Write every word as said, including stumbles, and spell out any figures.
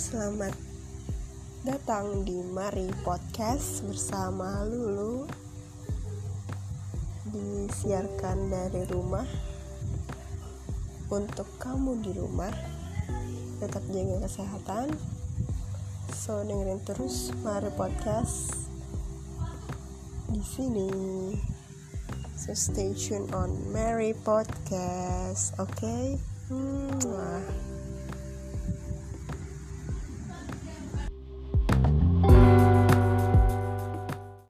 Selamat datang di Mari Podcast bersama Lulu. Disiarkan dari rumah. Untuk kamu di rumah, tetap jaga kesehatan. So dengerin terus Mari Podcast di sini. So stay tune on Mari Podcast. Oke. Okay? Hmm,